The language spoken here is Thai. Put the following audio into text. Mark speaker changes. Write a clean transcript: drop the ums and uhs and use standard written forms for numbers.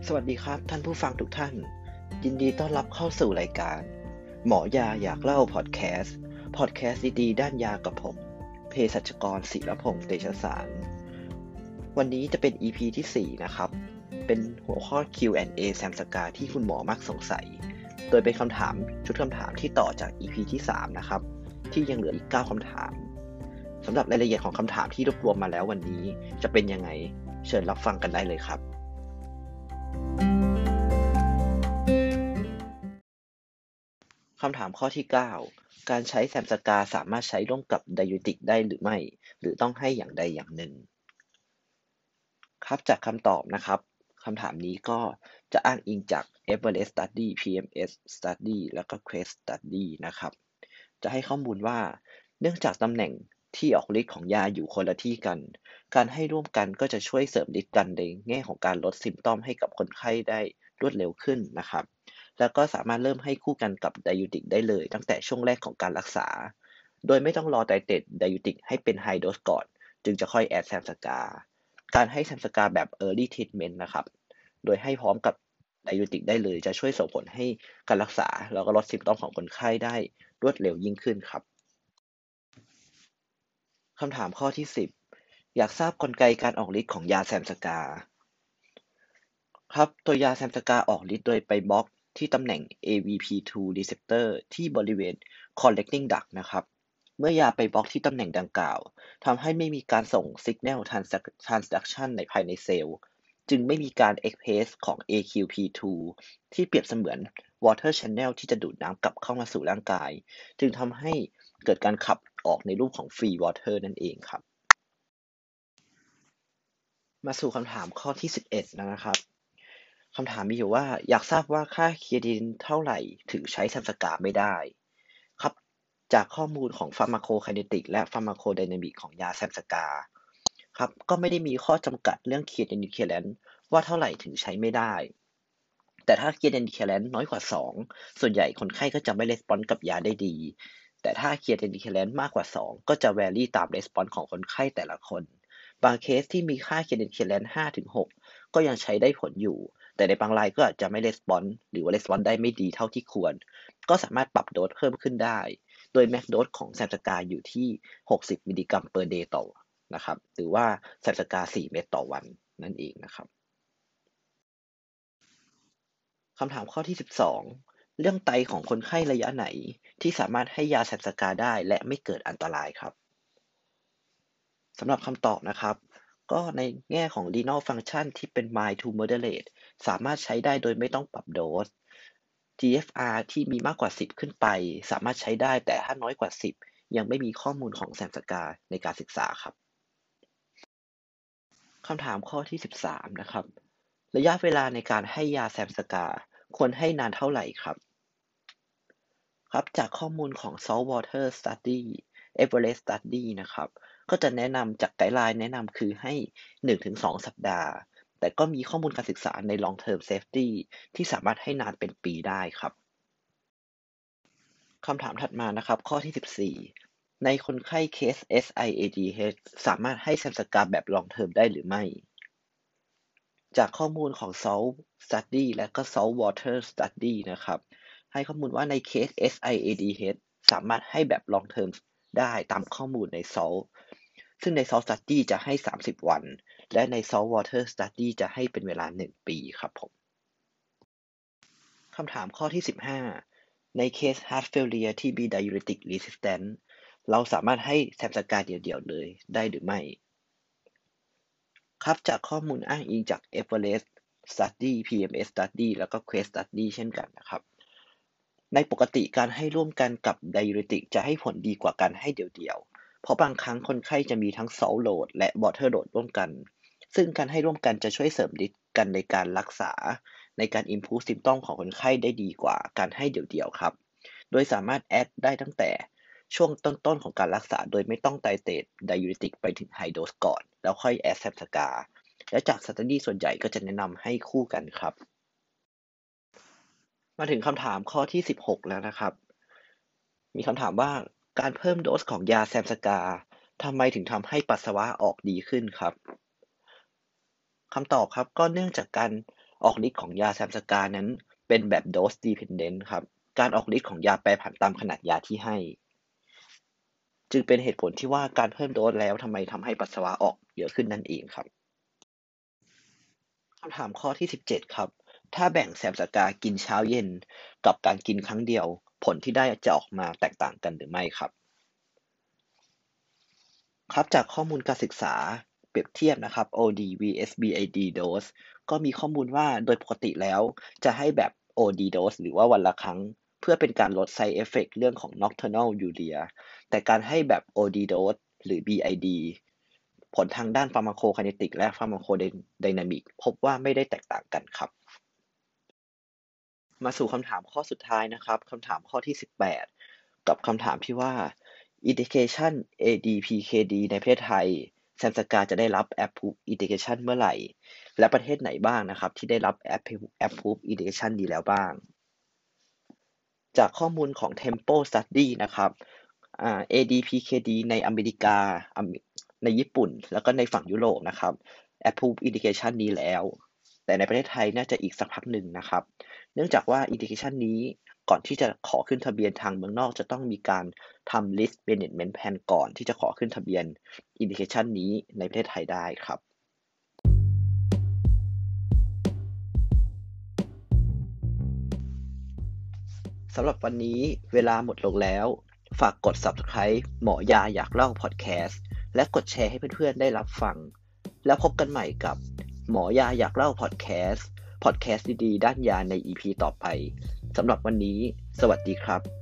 Speaker 1: สวัสดีครับท่านผู้ฟังทุกท่านยินดีต้อนรับเข้าสู่รายการหมอยาอยากเล่าพอดแคสต์ดีๆด้านยากับผมเภสัชกรศิรพงษ์เตชะสารวันนี้จะเป็น EP ที่4นะครับเป็นหัวข้อ Q&A แซมสกาที่คุณหมอมักสงสัยโดยเป็นชุดคำถามที่ต่อจาก EP ที่3นะครับที่ยังเหลืออีก9คำถามสำหรับรายละเอียดของคำถามที่รวบรวมมาแล้ววันนี้จะเป็นยังไงเชิญรับฟังกันได้เลยครับคำถามข้อที่9การใช้แซมสกาสามารถใช้ร่วมกับไดยูติกได้หรือไม่หรือต้องให้อย่างใดอย่างหนึ่งครับจากคำตอบนะครับคำถามนี้ก็จะอ้างอิงจาก Everest Study PMS Study แล้วก็ Quest Study นะครับจะให้ข้อมูลว่าเนื่องจากตำแหน่งที่ออกฤทธิ์ของยาอยู่คนละที่กันการให้ร่วมกันก็จะช่วยเสริมฤทธิ์กันในแง่ของการลดซิมป์ตอมให้กับคนไข้ได้รวดเร็วขึ้นนะครับแล้วก็สามารถเริ่มให้คู่กันกับไดยูติกได้เลยตั้งแต่ช่วงแรกของการรักษาโดยไม่ต้องรอไตรเตรตไดยูติกให้เป็นไฮโดสก่อนจึงจะค่อยแอดแซมสกาการให้แซมสกาแบบ Early Treatment นะครับโดยให้พร้อมกับไดยูติกได้เลยจะช่วยส่งผลให้การรักษาแล้วก็ลดซิมป์ตอมของคนไข้ได้รวดเร็วยิ่งขึ้นครับคำถามข้อที่10อยากทราบกลไกการออกฤทธิ์ของยาแซมสกาครับตัวยาแซมสกาออกฤทธิ์โดยไปบล็อกที่ตำแหน่ง AVP2 receptor ที่บริเวณ collecting duct นะครับเมื่อยาไปบล็อกที่ตำแหน่งดังกล่าวทำให้ไม่มีการส่ง signal transduction ในภายในเซลล์จึงไม่มีการ express ของ AQP2 ที่เปรียบเสมือน water channel ที่จะดูดน้ำกลับเข้ามาสู่ร่างกายจึงทำให้เกิดการขับออกในรูปของ free water นั่นเองครับมาสู่คำถามข้อที่11นะครับ คำถามมีอยู่ว่าอยากทราบว่าค่าเครียตินเท่าไหร่ถึงใช้ซัมสกาไม่ได้ครับจากข้อมูลของ Pharmacokinetic และ Pharmacodynamic ของยาแซมสกาครับก็ไม่ได้มีข้อจำกัดเรื่อง Creatinine equivalent ว่าเท่าไหร่ถึงใช้ไม่ได้แต่ถ้า Creatinine equivalent น้อยกว่า2ส่วนใหญ่คนไข้ก็จะไม่ respond กับยาได้ดีแต่ถ้า Creatinine equivalent มากกว่า2ก็จะ vary ตาม response ของคนไข้แต่ละคนบางเคสที่มีค่า Creatinine equivalent 5-6ก็ยังใช้ได้ผลอยู่แต่ในบางรายก็อาจจะไม่ response หรือว่า response ได้ไม่ดีเท่าที่ควรก็สามารถปรับโดสเพิ่มขึ้นได้โดย max dose ของแซมสกาอยู่ที่60มิลลิกรัม per day ต่อนะครับหรือว่าแซมสกา4เม็ดต่อวันนั่นเองนะครับคำถามข้อที่12เรื่องไตของคนไข้ระยะไหนที่สามารถให้ยาแซมสกาได้และไม่เกิดอันตรายครับสำหรับคำตอบนะครับก็ในแง่ของ renal function ที่เป็น mild to moderate สามารถใช้ได้โดยไม่ต้องปรับโดส GFR ที่มีมากกว่า10ขึ้นไปสามารถใช้ได้แต่ถ้าน้อยกว่า10ยังไม่มีข้อมูลของแซมสกาในการศึกษาครับคำถามข้อที่13นะครับระยะเวลาในการให้ยาแซมสกาควรให้นานเท่าไหร่ครับครับจากข้อมูลของ Saltwater Study Everest Study นะครับก็จะแนะนำจากไกด์ไลน์แนะนำคือให้1-2สัปดาห์แต่ก็มีข้อมูลการศึกษาใน Long Term Safety ที่สามารถให้นานเป็นปีได้ครับ คำถามถัดมานะครับข้อที่14ในคนไข้เคส SIADH สามารถให้แซมสกาแบบ long term ได้หรือไม่จากข้อมูลของ SALT Study และก็ Saltwater Study นะครับให้ข้อมูลว่าในเคส SIADH สามารถให้แบบ long term ได้ตามข้อมูลใน SALT ซึ่งใน SALT Study จะให้30วันและใน Saltwater Study จะให้เป็นเวลา1ปีครับผมคำถามข้อที่15ในเคส Heart Failure ที่มี Diuretic Resistant เราสามารถให้แซมสกาเดี่ยวๆเลยได้หรือไม่ครับจากข้อมูลอ้างอิงจาก Everest Study PMS Study แล้วก็ Quest Study เช่นกันนะครับในปกติการให้ร่วมกันกับ Diuretic จะให้ผลดีกว่าการให้เดี่ยวๆเพราะบางครั้งคนไข้จะมีทั้ง Salt load และ Water load ร่วมกันซึ่งการให้ร่วมกันจะช่วยเสริมฤทธิ์กันในการรักษาในการ improve symptom ของคนไข้ได้ดีกว่าการให้เดี่ยวๆครับโดยสามารถแอดได้ตั้งแต่ช่วงต้นๆของการรักษาโดยไม่ต้องไตรเตรต Diuretic ไปถึง High dose ก่อนแล้วค่อยแอดแซมสกาและจาก Study ส่วนใหญ่ก็จะแนะนำให้คู่กันครับมาถึงคำถามข้อที่16แล้วนะครับมีคำถามว่าการเพิ่มโดสของยาแซมสกาทำไมถึงทำให้ปัสสาวะออกดีขึ้นครับคำตอบครับก็เนื่องจากการออกฤทธิ์ของยาแซมสกานั้นเป็นแบบ dose dependent ครับการออกฤทธิ์ของยาแปรผันตามขนาดยาที่ให้จึงเป็นเหตุผลที่ว่าการเพิ่มโดสแล้วทำให้ปัสสาวะออกเยอะขึ้นนั่นเองครับคำถามข้อที่17ครับถ้าแบ่งแซมสกากินเช้าเย็นกับการกินครั้งเดียวผลที่ได้จะออกมาแตกต่างกันหรือไม่ครับครับจากข้อมูลการศึกษาเปรียบเทียบนะครับ OD vs BID dose ก็มีข้อมูลว่าโดยปกติแล้วจะให้แบบ OD dose หรือว่าวันละครั้งเพื่อเป็นการลด side effect เรื่องของ nocturnal urea แต่การให้แบบ OD dose หรือ BID ผลทางด้าน pharmacokinetic และ pharmacodynamic พบว่าไม่ได้แตกต่างกันครับมาสู่คำถามข้อสุดท้ายนะครับคำถามข้อที่18กับคำถามที่ว่า indication ADPKD ในประเทศไทยแซมสกาจะได้รับ approve indication เมื่อไหร่และประเทศไหนบ้างนะครับที่ได้รับ approve indication นี้แล้วบ้างจากข้อมูลของ Tempo Study นะครับADPKD ในอเมริกาในญี่ปุ่นแล้วก็ในฝั่งยุโรปนะครับ approve indication นี้แล้วแต่ในประเทศไทยน่าจะอีกสักพักหนึ่งนะครับเนื่องจากว่า indication นี้ก่อนที่จะขอขึ้นทะเบียนทางเมืองนอกจะต้องมีการทำ list management plan ก่อนที่จะขอขึ้นทะเบียน indication นี้ในประเทศไทยได้ครับสำหรับวันนี้เวลาหมดลงแล้วฝากกด Subscribe หมอยาอยากเล่า Podcast และกดแชร์ให้เพื่อนๆได้รับฟังแล้วพบกันใหม่กับหมอยาอยากเล่า Podcast ดีๆด้านยาใน EP ต่อไปสำหรับวันนี้สวัสดีครับ